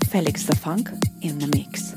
Felix the Funk in the mix.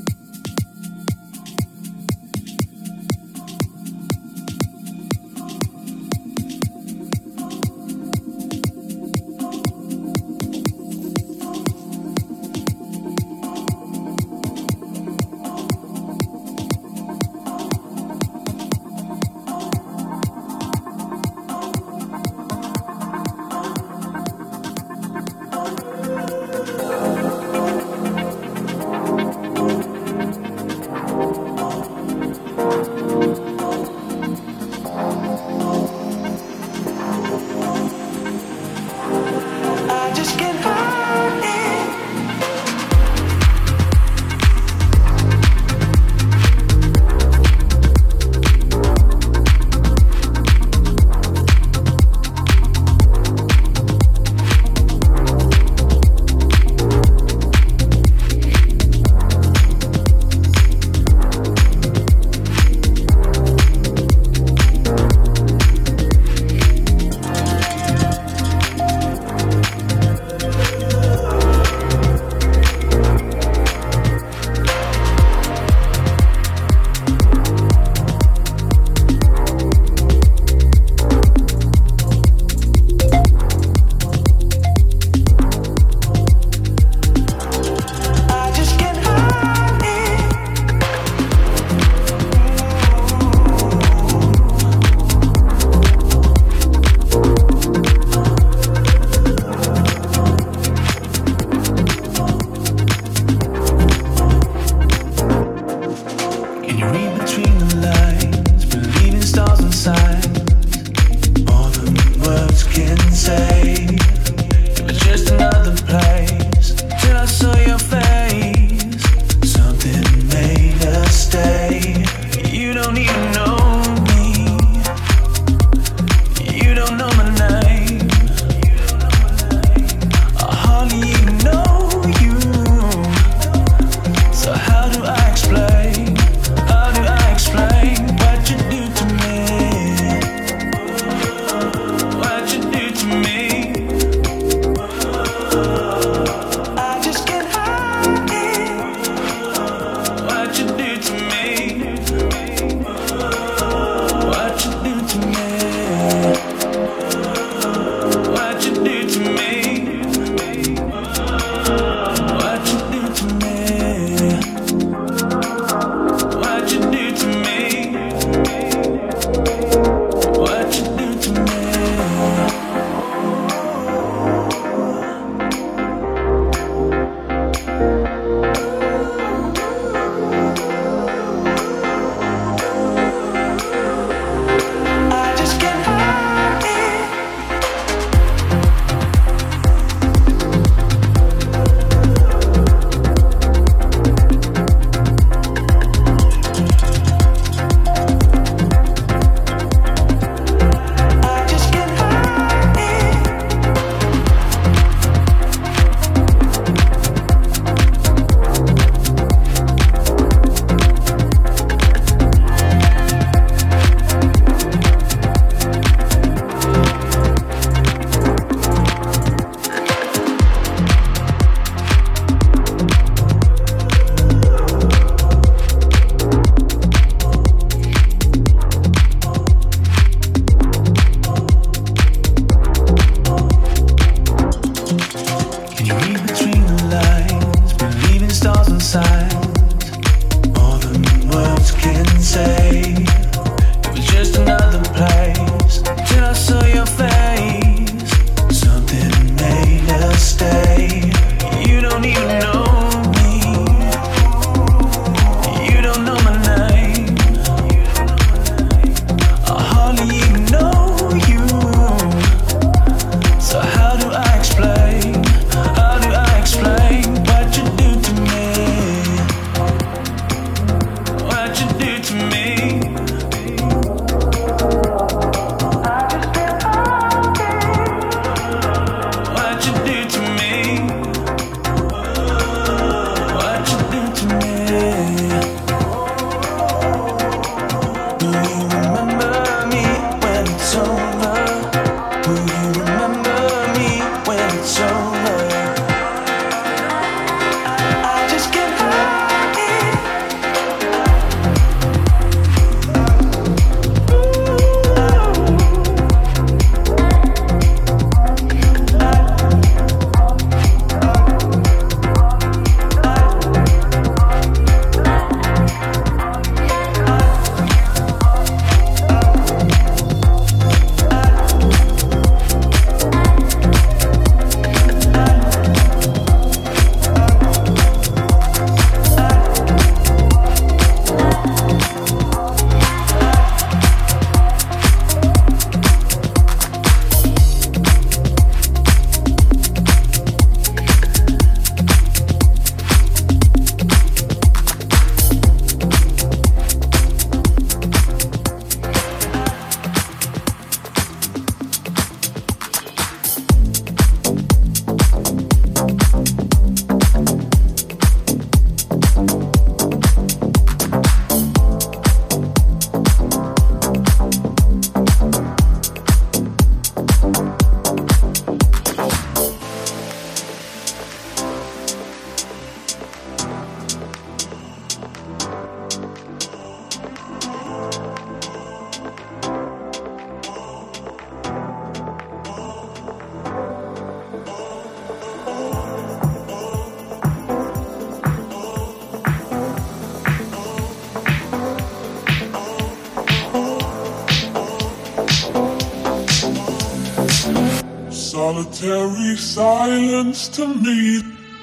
Solitary silence to me.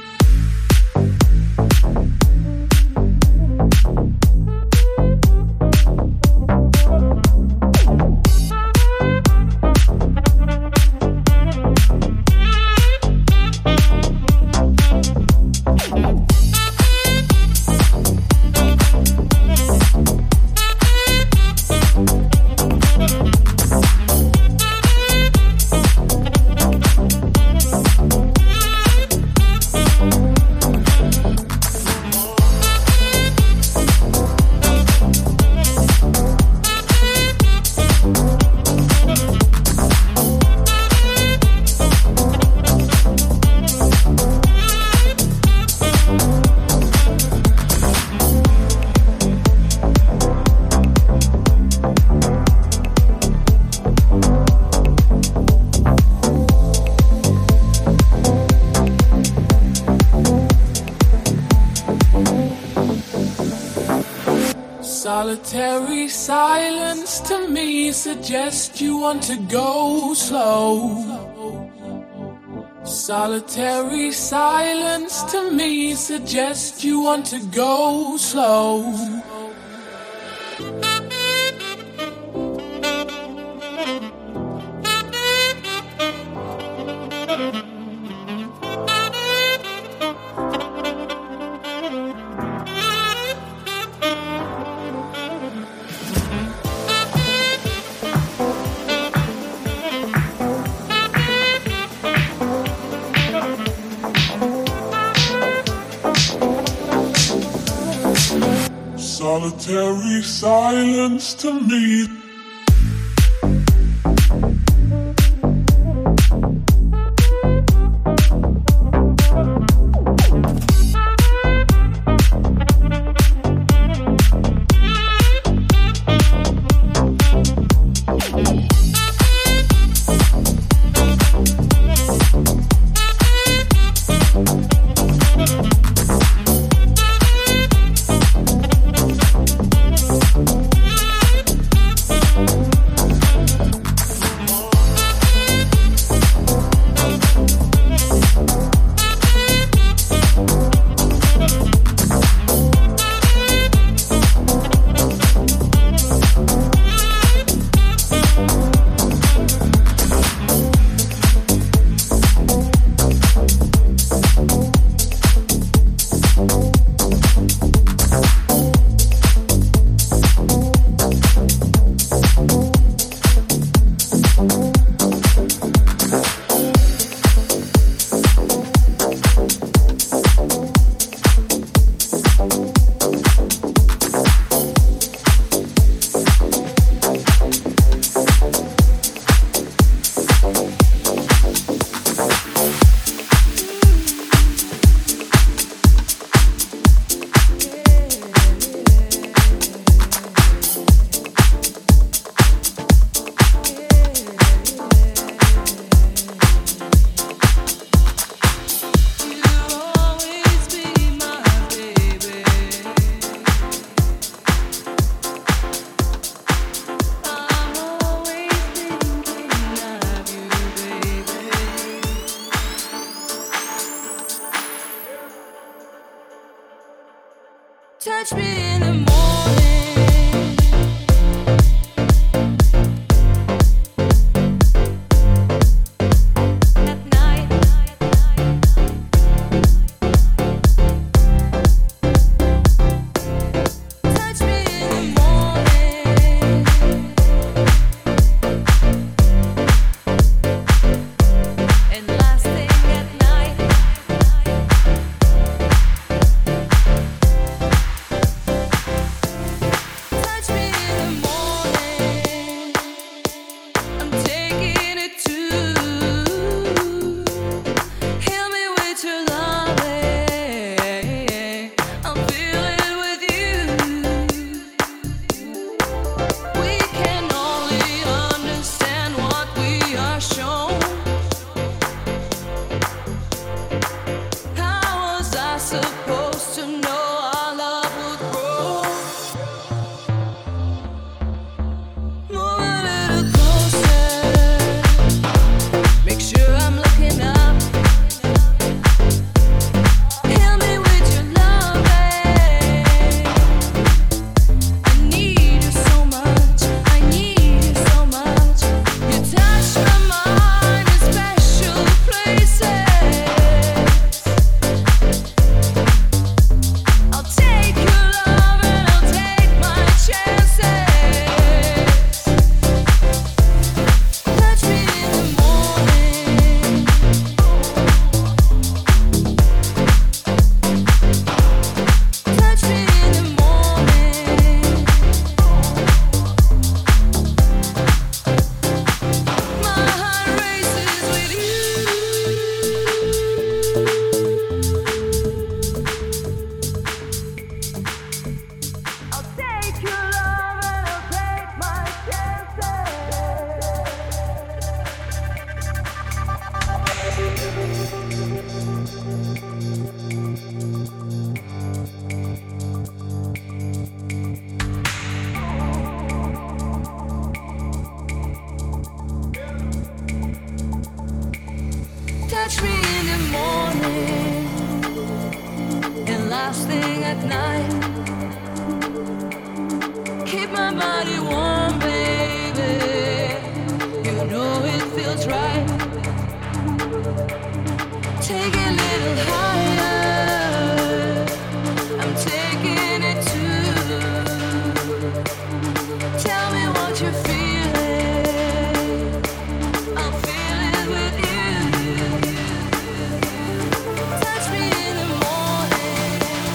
Solitary silence to me suggests you want to go slow. Solitary silence to me suggests you want to go slow. Solitary silence to me. Touch me in the morning. At night. Touch me in the morning. And last thing at night. last thing at night. Keep my body warm, baby. You know it feels right. Take it a little higher. I'm taking it to. Tell me what you're feeling. I'll feel it with you. Touch me in the morning.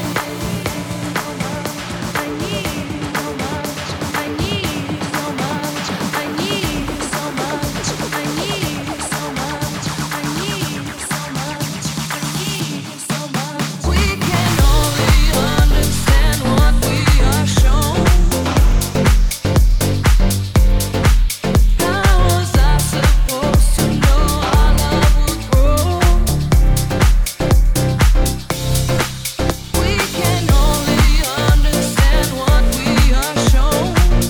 I need so much. I need so much. I need so much. I need so much. I need so much. I need so much. We can only understand what we are shown. How was I supposed to know our love would grow? We can only understand what we are shown.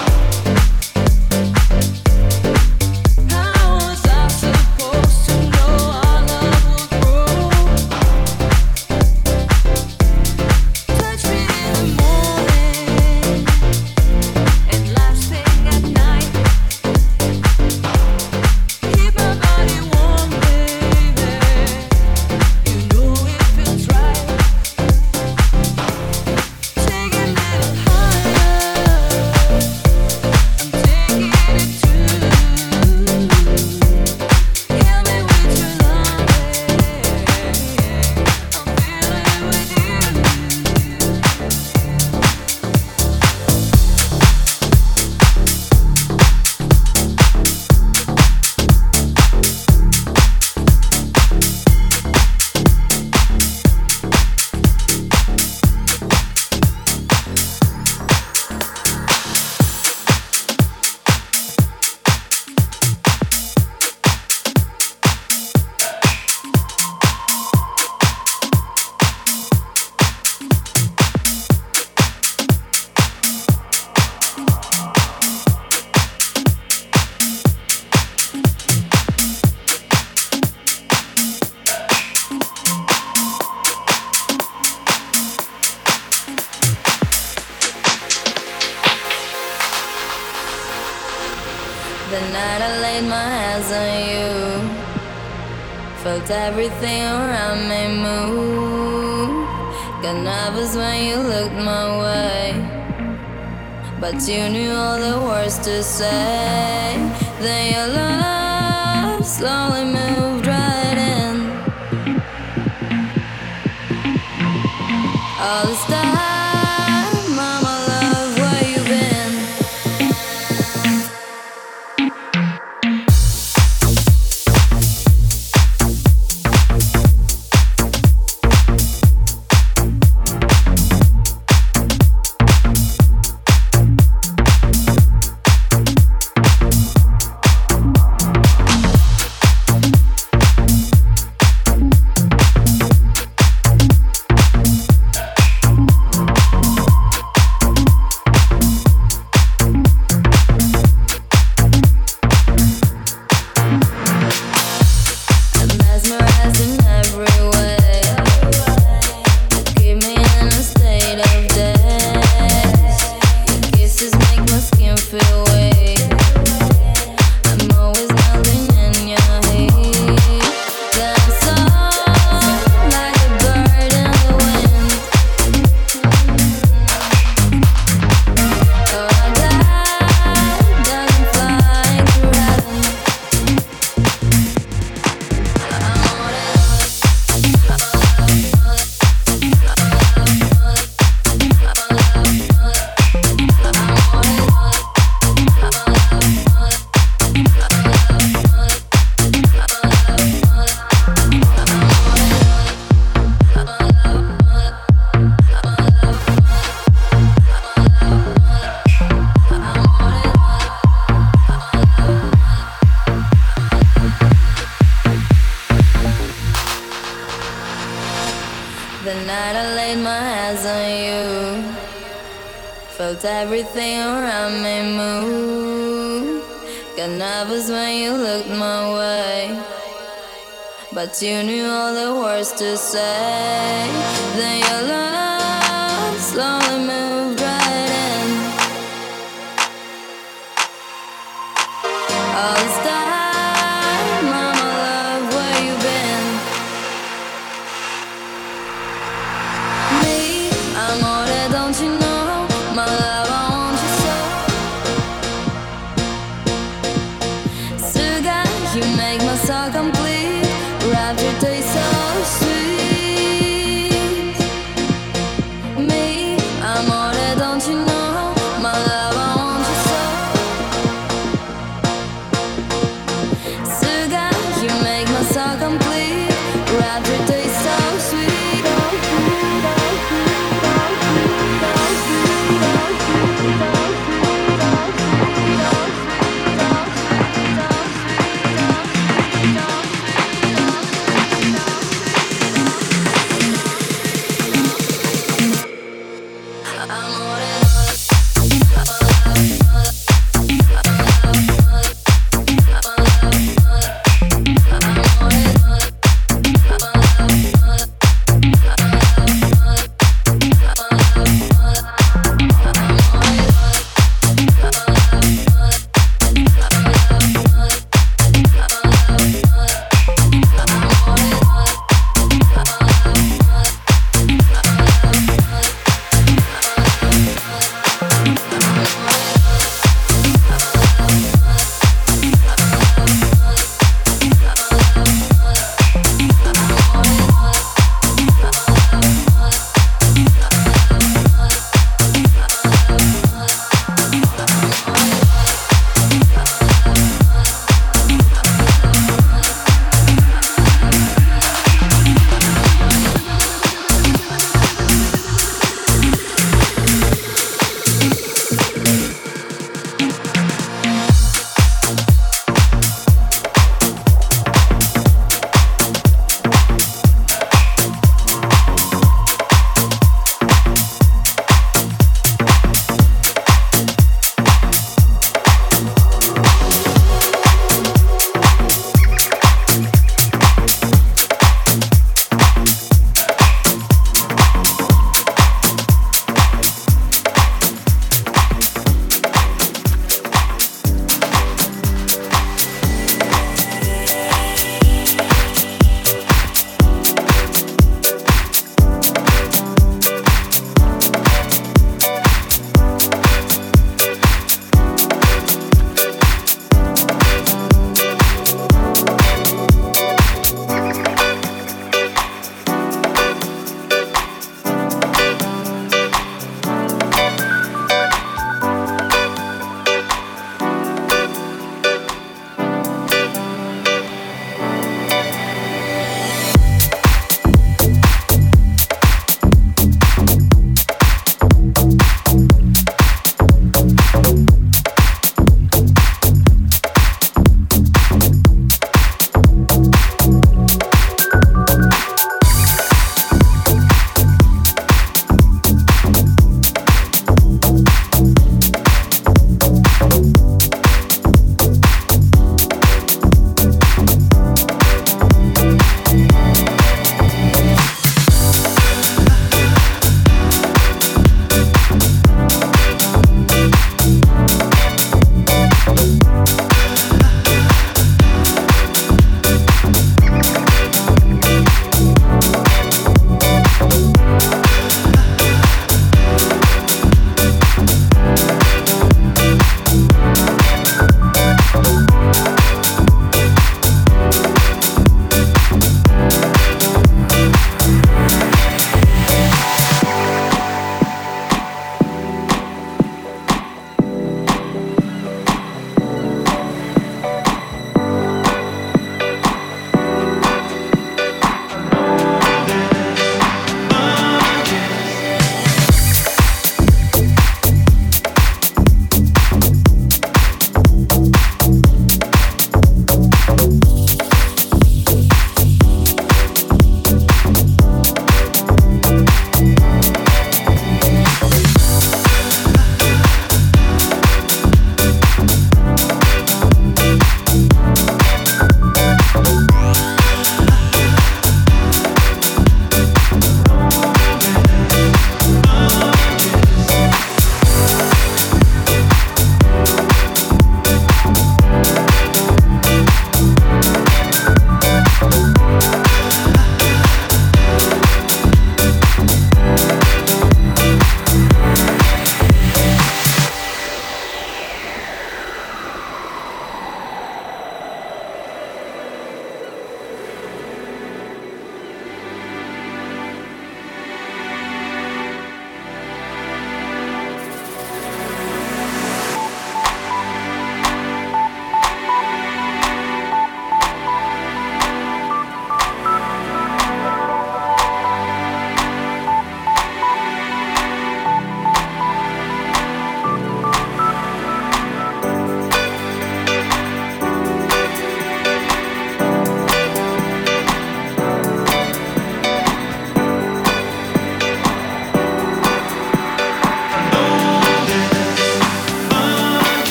How was I supposed to know our love would grow? Touch me in the morning and last thing at night. Keep my body warm, baby. You know it feels right. Take it a little higher. I'm taking it to. Kill me with your love. I'm feeling with you. The night I laid my hands on you, felt everything around me move. Got nervous when you looked my way, but you knew all the words to say. Then your love slowly moved right in. All this time, mama love, where you been? I'm mesmerized in every way. Keep me in a state of daze. Your kisses make my skin feel weak. I'm always melting in your heat. Dance on like a bird in the wind. Or a glide doesn't fly through heaven. The night I laid my hands on you, felt everything around me move. Got nervous when you looked my way, but you knew all the words to say. Then your love slowly moved right in. All this time, mama love, where you been? Me, I'm all that, don't you know? My love, I want you so. Sugar, you make my soul complete. Wrap your taste so sweet. Me, I'm all that, don't you know? My love, I want you so. Sugar, you make my soul complete. Wrap your taste so sweet.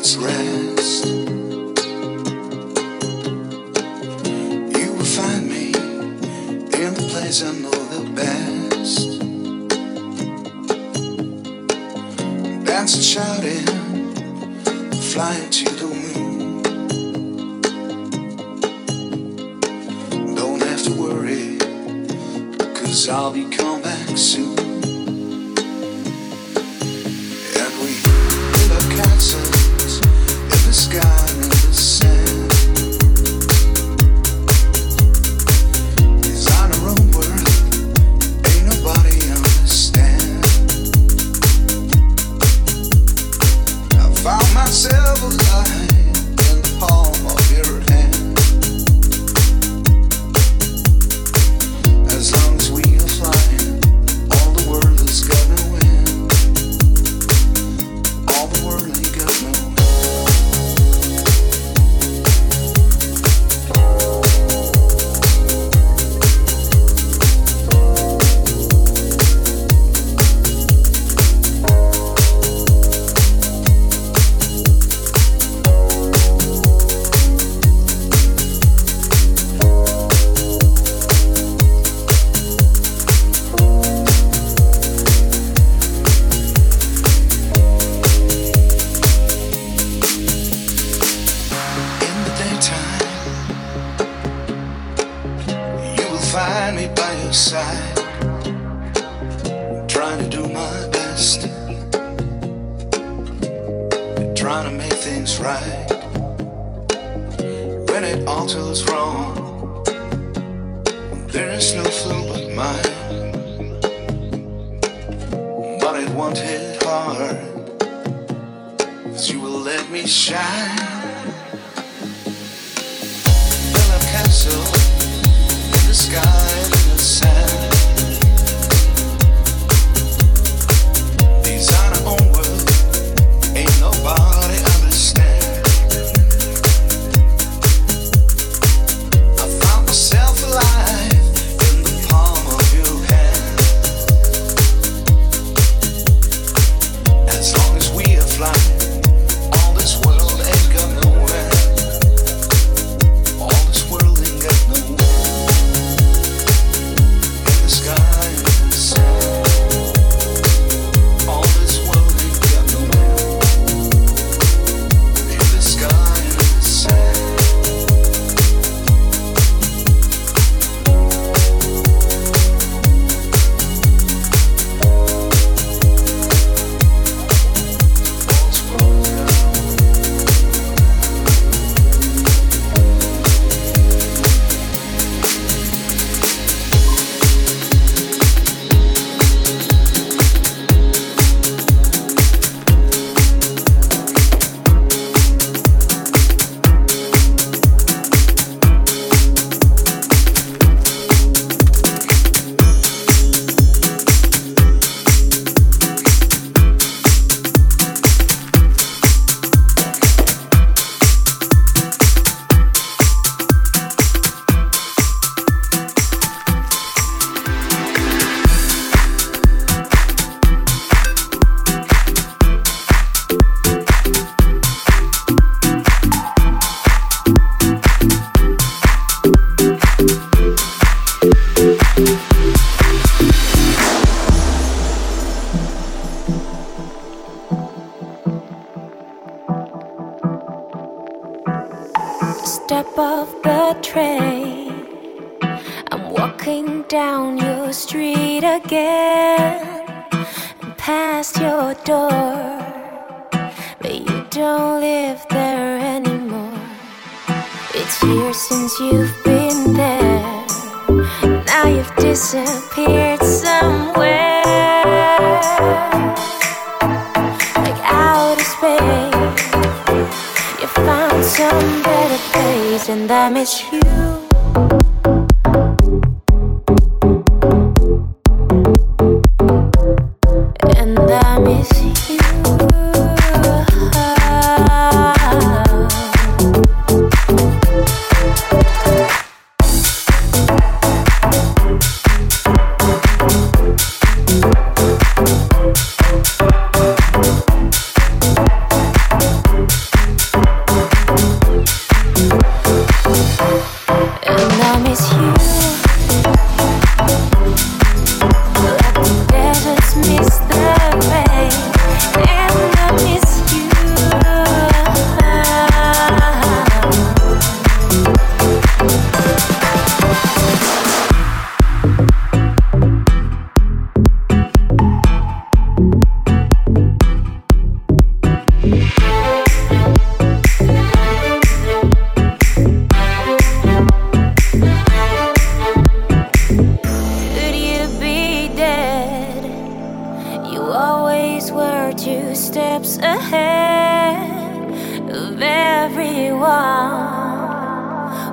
its rest. You will find me in the place I know the best. Dancing, shouting, flying to the moon. Don't have to worry, 'cause I'll be coming back soon. And we build up castles in the sky and in the sand. Design our own world, ain't nobody understand. I found myself alive in the palm of your hand. As long as we are flying, all the world is gonna win. All the world ain't got no find me by your side, trying to do my best, trying to make things right. When it all feels wrong, there is no fault but mine. But it won't hit hard, 'cause you will let me shine. Build a castle in the sky and in the sand. Design our own world, ain't nobody understand. I found myself alive in the palm of your hand. As long as we are flying, all this world ain't got nowhere. All this world ain't got nowhere. In the sky and in the sand. All this world ain't got nowhere. In the sky and in the sand. Step off the train, I'm walking down your street again, and past your door, but you don't live there anymore. It's years since you've been there, now you've disappeared somewhere, like outer space. You found some better place, and I miss you. And I miss you.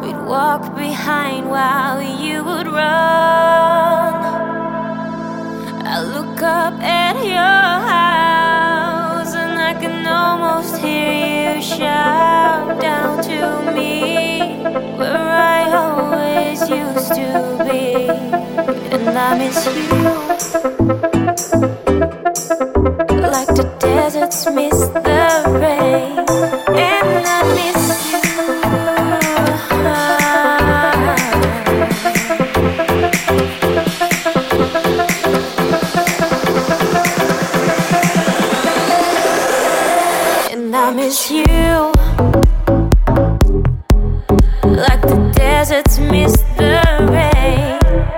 we'd walk behind while you would run. I look up at your house and I can almost hear you shout down to me, where I always used to be. And I miss you, like the deserts miss the rain. And I miss you. And I miss you, like the deserts miss the rain.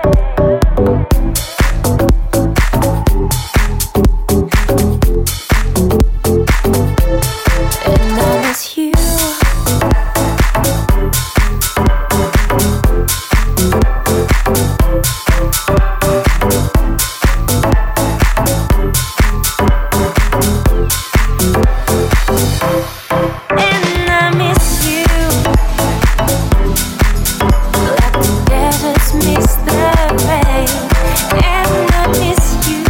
And I miss you. And I miss you, like the deserts miss the rain. And I miss you.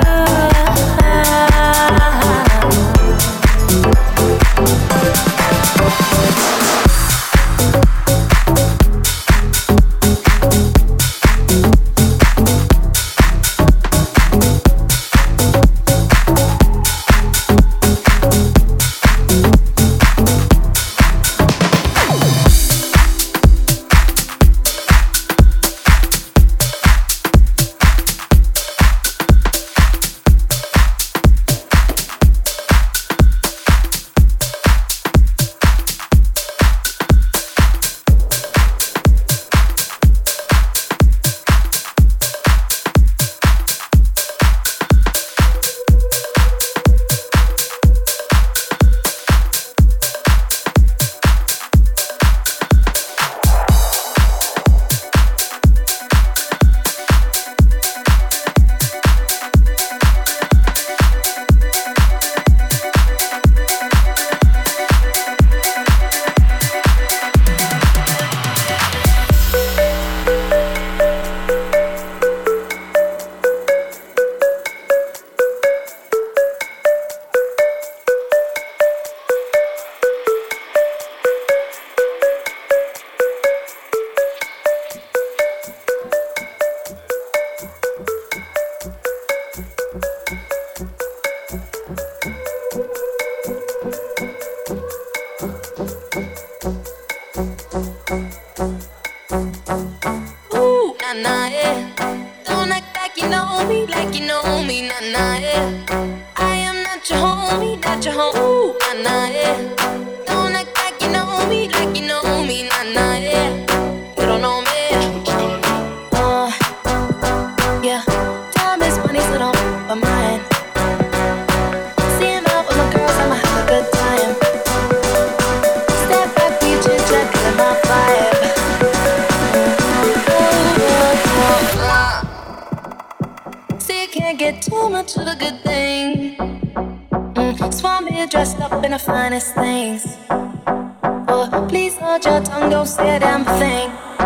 Ooh, nah, nah, yeah. Don't act like you know me, nah, nah, yeah. I am not your homie, not your home. Ooh, nah, nah, yeah. Don't act like you know me, nah, nah, yeah. You don't know me. Yeah. Time is money, so don't but mine. Seeing out with my girls, I'ma have a good time. Step back, we chit-chat, feeling my vibe. See, you can't get too much of a good thing. Swan me dressed up in the finest things. Oh, please hold your tongue, don't say a damn thing.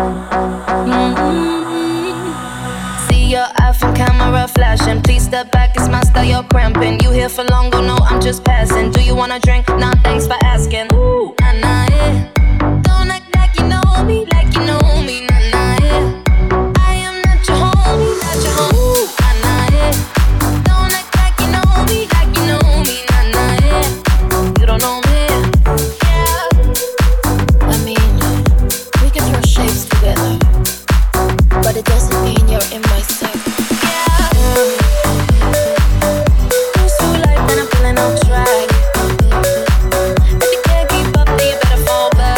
See your iPhone camera flashing. Please step back, it's my style, you're cramping. You here for long, go no, I'm just passing. Do you wanna drink? Nah, thanks for asking. Ooh, nah, nah, yeah. Don't act like you know me, nah, nah, yeah. I am not your homie, not your home. Ooh, nah, nah, yeah. Don't act like you know me, nah, nah, yeah. You don't know me, yeah. I mean, we can throw shapes together, but it doesn't mean you're in my circle. Who's too light when I'm feeling on track? If you can't keep up, then you better fall back.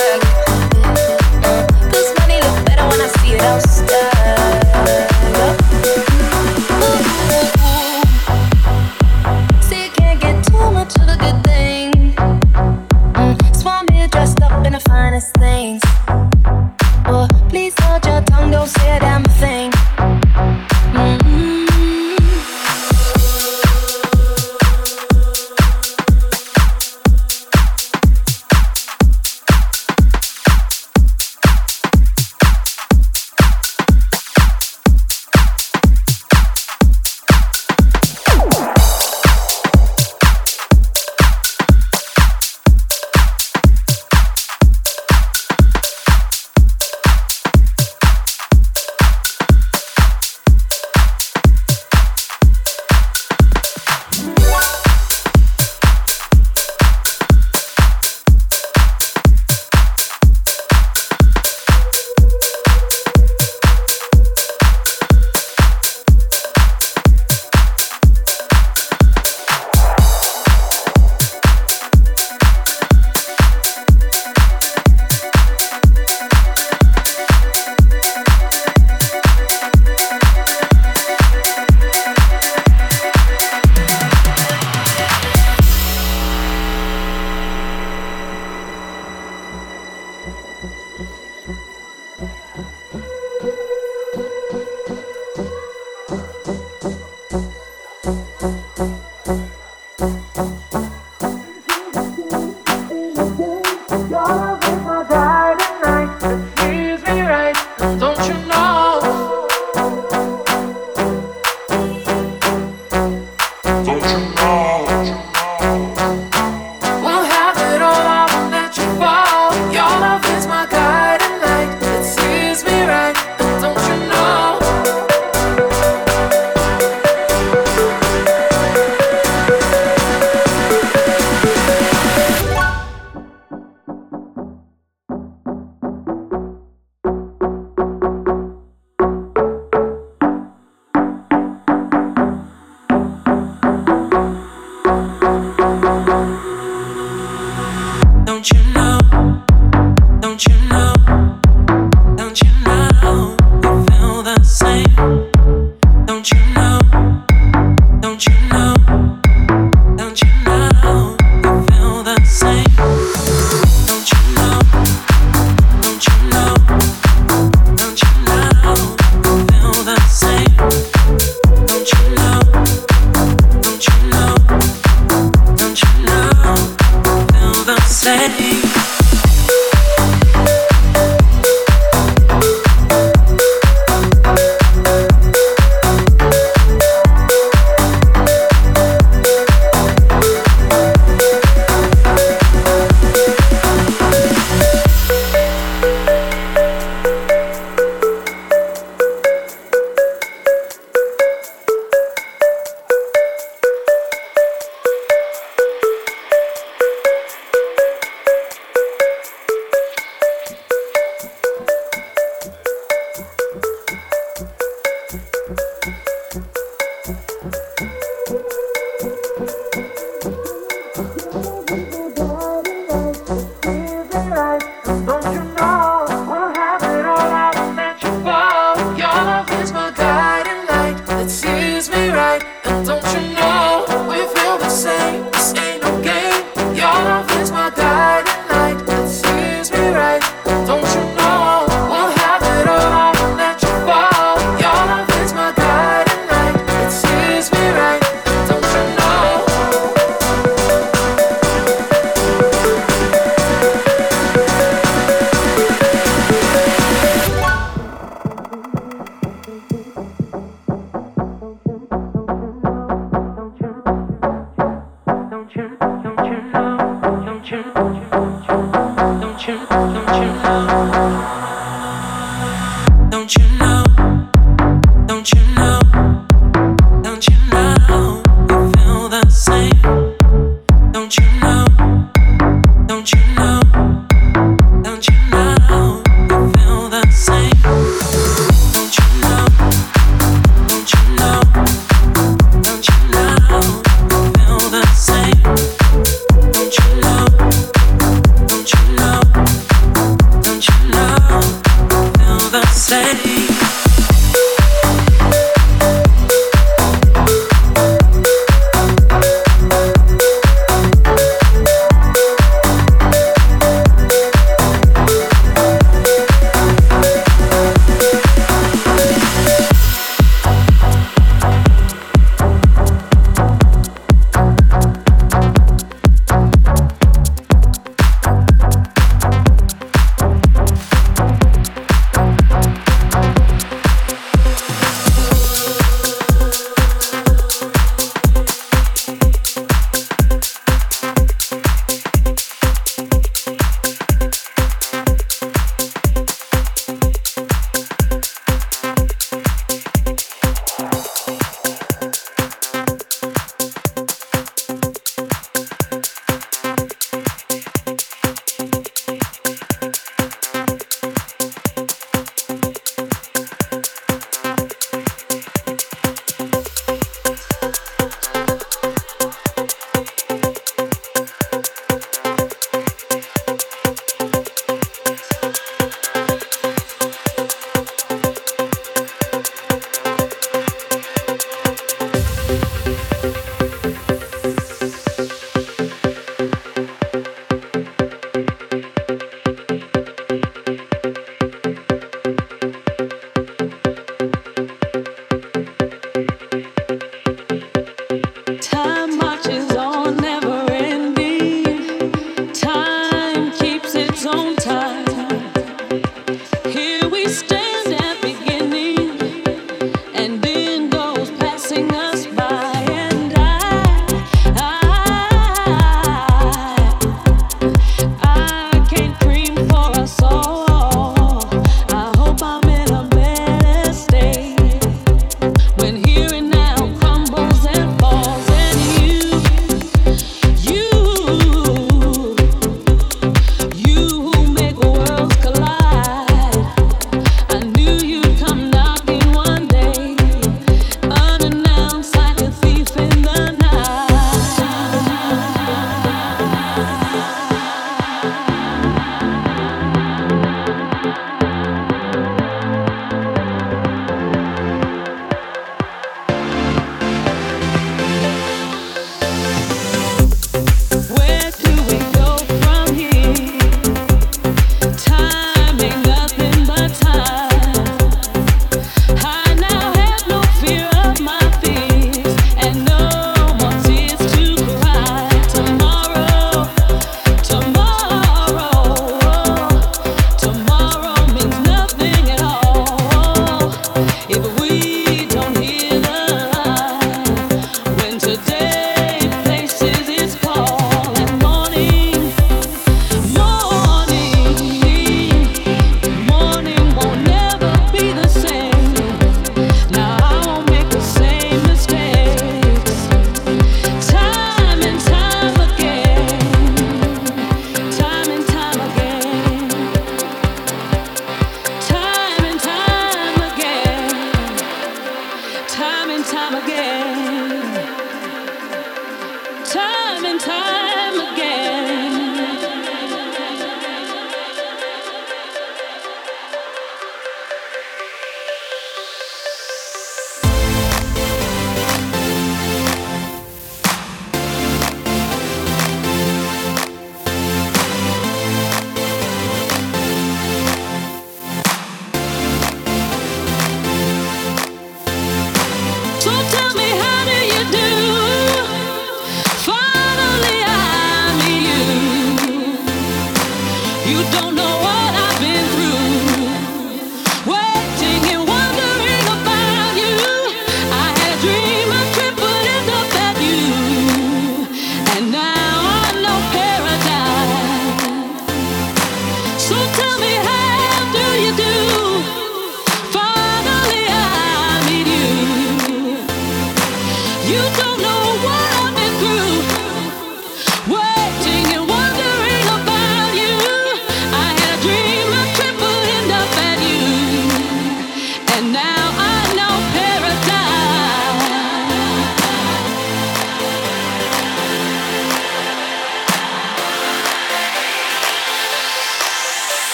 Your love is my guiding light that sees me right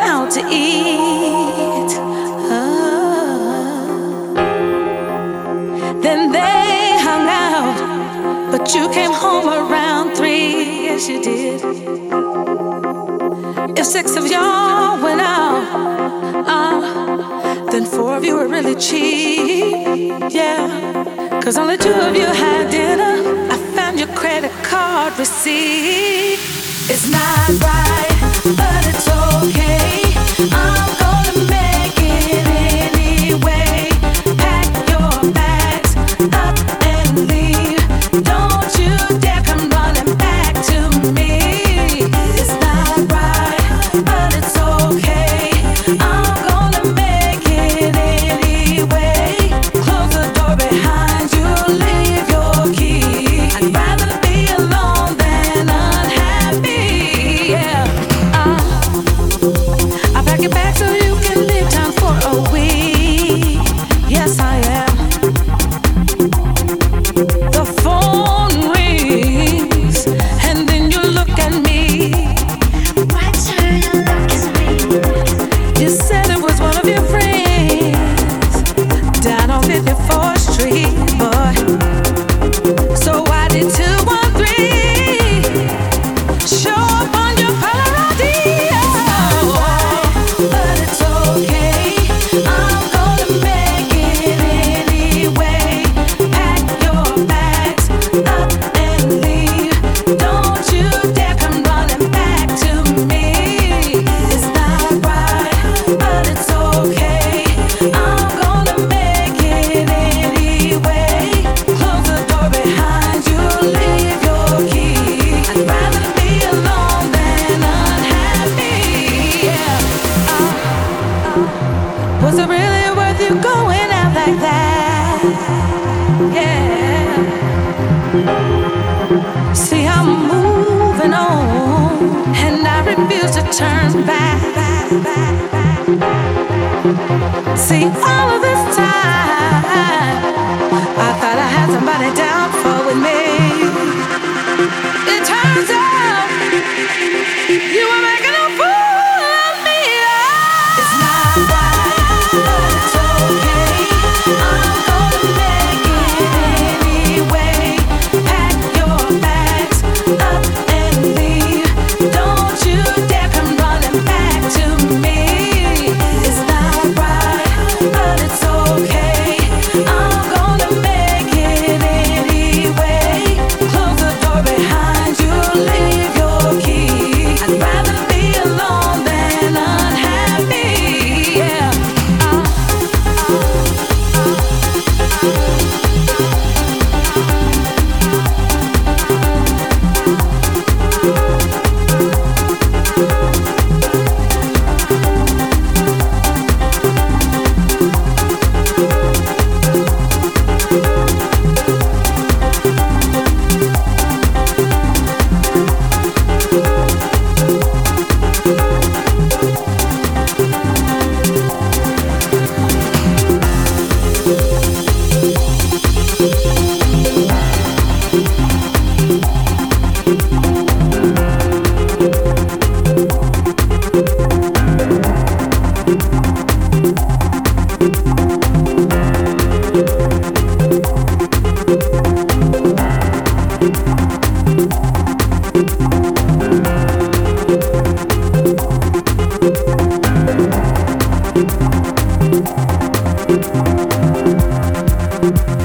out to eat. Then they hung out, but you came home around 3. Yes, you did. If 6 of y'all went out, then 4 of you were really cheap. Yeah, 'cause only 2 of you had dinner. I found your credit card receipt. It's not right, but it's okay. I'm gonna make it anyway. Pack your bags up and leave. Don't you dare come running back to me. It's not right, but it's okay. I'm gonna make it anyway. Close the door behind you, leave your key. I'd rather be alone than unhappy. Yeah. I'll pack it back so you can leave town for a week. Yes, I am. The phone rings, and then you look at me. Why turn you look at me? You said it was one of your friends down on 54th Street, boy. So why did 213 show up on your caller ID? But it's okay. I'm gonna make it anyway. Pack your bags up and leave. Don't you dare come running back to me. It's not right, but it's okay. I'm gonna make it anyway. Close the door behind you, leave your key. I'd rather be alone than unhappy. Yeah. Was it really worth you going out like that? Yeah. See, I'm moving on, and I refuse to turn back. See, all of this time, I thought I had somebody down for with me. It turns out you were making a fool of me. It's not right, but it's okay. I'm gonna make it anyway. Pack your bags up and leave. Don't you dare come running back to me. It's not right, but it's okay. I'm gonna make it anyway. Close the door behind you, leave your key. I'd rather be alone than unhappy. Yeah.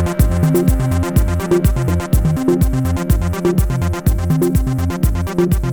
Thank you.